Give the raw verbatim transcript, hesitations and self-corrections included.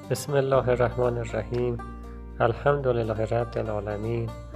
بسم الله الرحمن الرحیم. الحمد لله رب العالمین